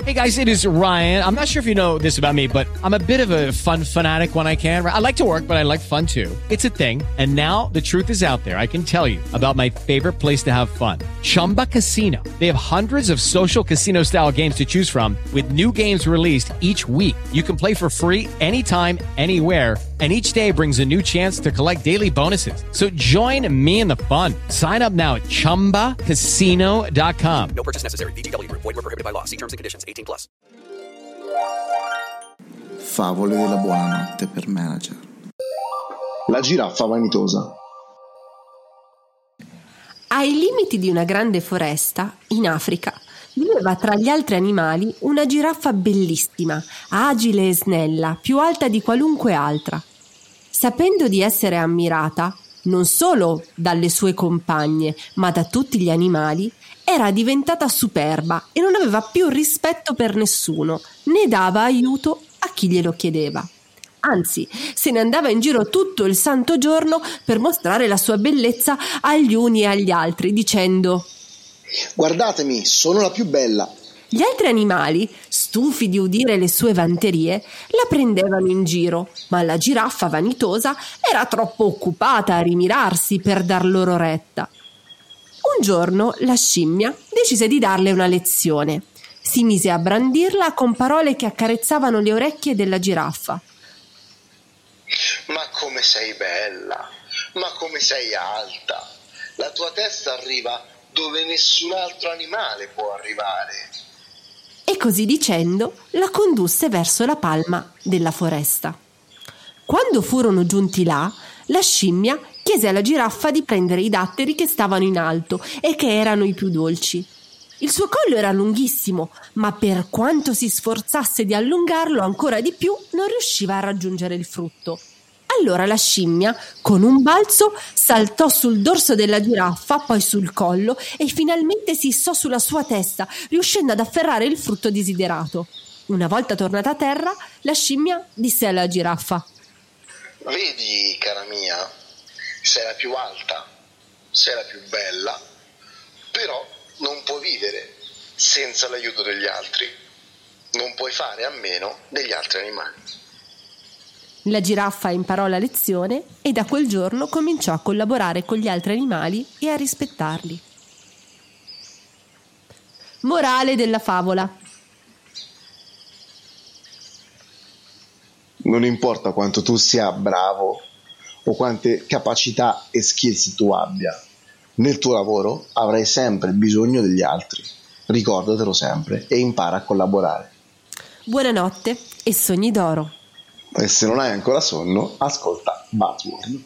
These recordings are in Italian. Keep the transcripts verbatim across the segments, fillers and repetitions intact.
Hey guys, it is Ryan. I'm not sure if you know this about me, but I'm a bit of a fun fanatic when I can. I like to work, but I like fun too. It's a thing. And now the truth is out there. I can tell you about my favorite place to have fun. Chumba Casino. They have hundreds of social casino style games to choose from with new games released each week. You can play for free anytime, anywhere. And each day brings a new chance to collect daily bonuses. So join me in the fun. Sign up now at chumba casino dot com. No purchase necessary. V G W Group. Void where prohibited by law. See terms and conditions. eighteen plus. Favole della buonanotte per manager. La giraffa vanitosa. Ai limiti di una grande foresta, in Africa, viveva tra gli altri animali una giraffa bellissima, agile e snella, più alta di qualunque altra. Sapendo di essere ammirata, non solo dalle sue compagne, ma da tutti gli animali, era diventata superba e non aveva più rispetto per nessuno, né dava aiuto a chi glielo chiedeva. Anzi, se ne andava in giro tutto il santo giorno per mostrare la sua bellezza agli uni e agli altri, dicendo: guardatemi, sono la più bella. Gli altri animali, stufi di udire le sue vanterie, la prendevano in giro, ma la giraffa vanitosa era troppo occupata a rimirarsi per dar loro retta. Un giorno la scimmia decise di darle una lezione. Si mise a brandirla con parole che accarezzavano le orecchie della giraffa. Ma come sei bella, ma come sei alta. La tua testa arriva dove nessun altro animale può arrivare. E così dicendo la condusse verso la palma della foresta. Quando furono giunti là, la scimmia chiese alla giraffa di prendere i datteri che stavano in alto e che erano i più dolci. Il suo collo era lunghissimo, ma per quanto si sforzasse di allungarlo ancora di più, non riusciva a raggiungere il frutto. Allora la scimmia, con un balzo, saltò sul dorso della giraffa, poi sul collo e finalmente si issò sulla sua testa, riuscendo ad afferrare il frutto desiderato. Una volta tornata a terra, la scimmia disse alla giraffa: vedi, cara mia, sei la più alta, sei la più bella, però non puoi vivere senza l'aiuto degli altri. Non puoi fare a meno degli altri animali. La giraffa imparò la lezione e da quel giorno cominciò a collaborare con gli altri animali e a rispettarli. Morale della favola: Non importa quanto tu sia bravo o quante capacità e skills tu abbia, nel tuo lavoro avrai sempre bisogno degli altri. Ricordatelo sempre e impara a collaborare. Buonanotte e sogni d'oro. E se non hai ancora sonno, ascolta Buzzword.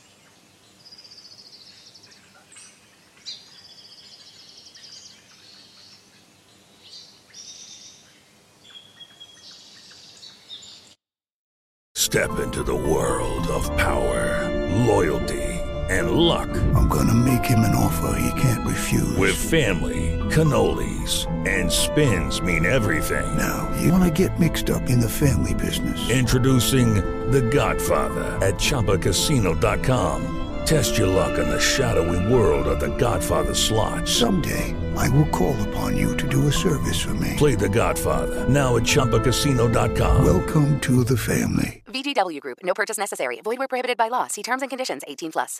Step into the world of power, loyalty, and luck. I'm gonna make him an offer he can't refuse. With family, cannolis, and spins mean everything. Now, you wanna get mixed up in the family business. Introducing The Godfather at Chumba Casino dot com. Test your luck in the shadowy world of The Godfather slot. Someday, I will call upon you to do a service for me. Play The Godfather, now at Chumba Casino dot com. Welcome to the family. V G W Group. No purchase necessary. Void where prohibited by law. See terms and conditions. eighteen plus.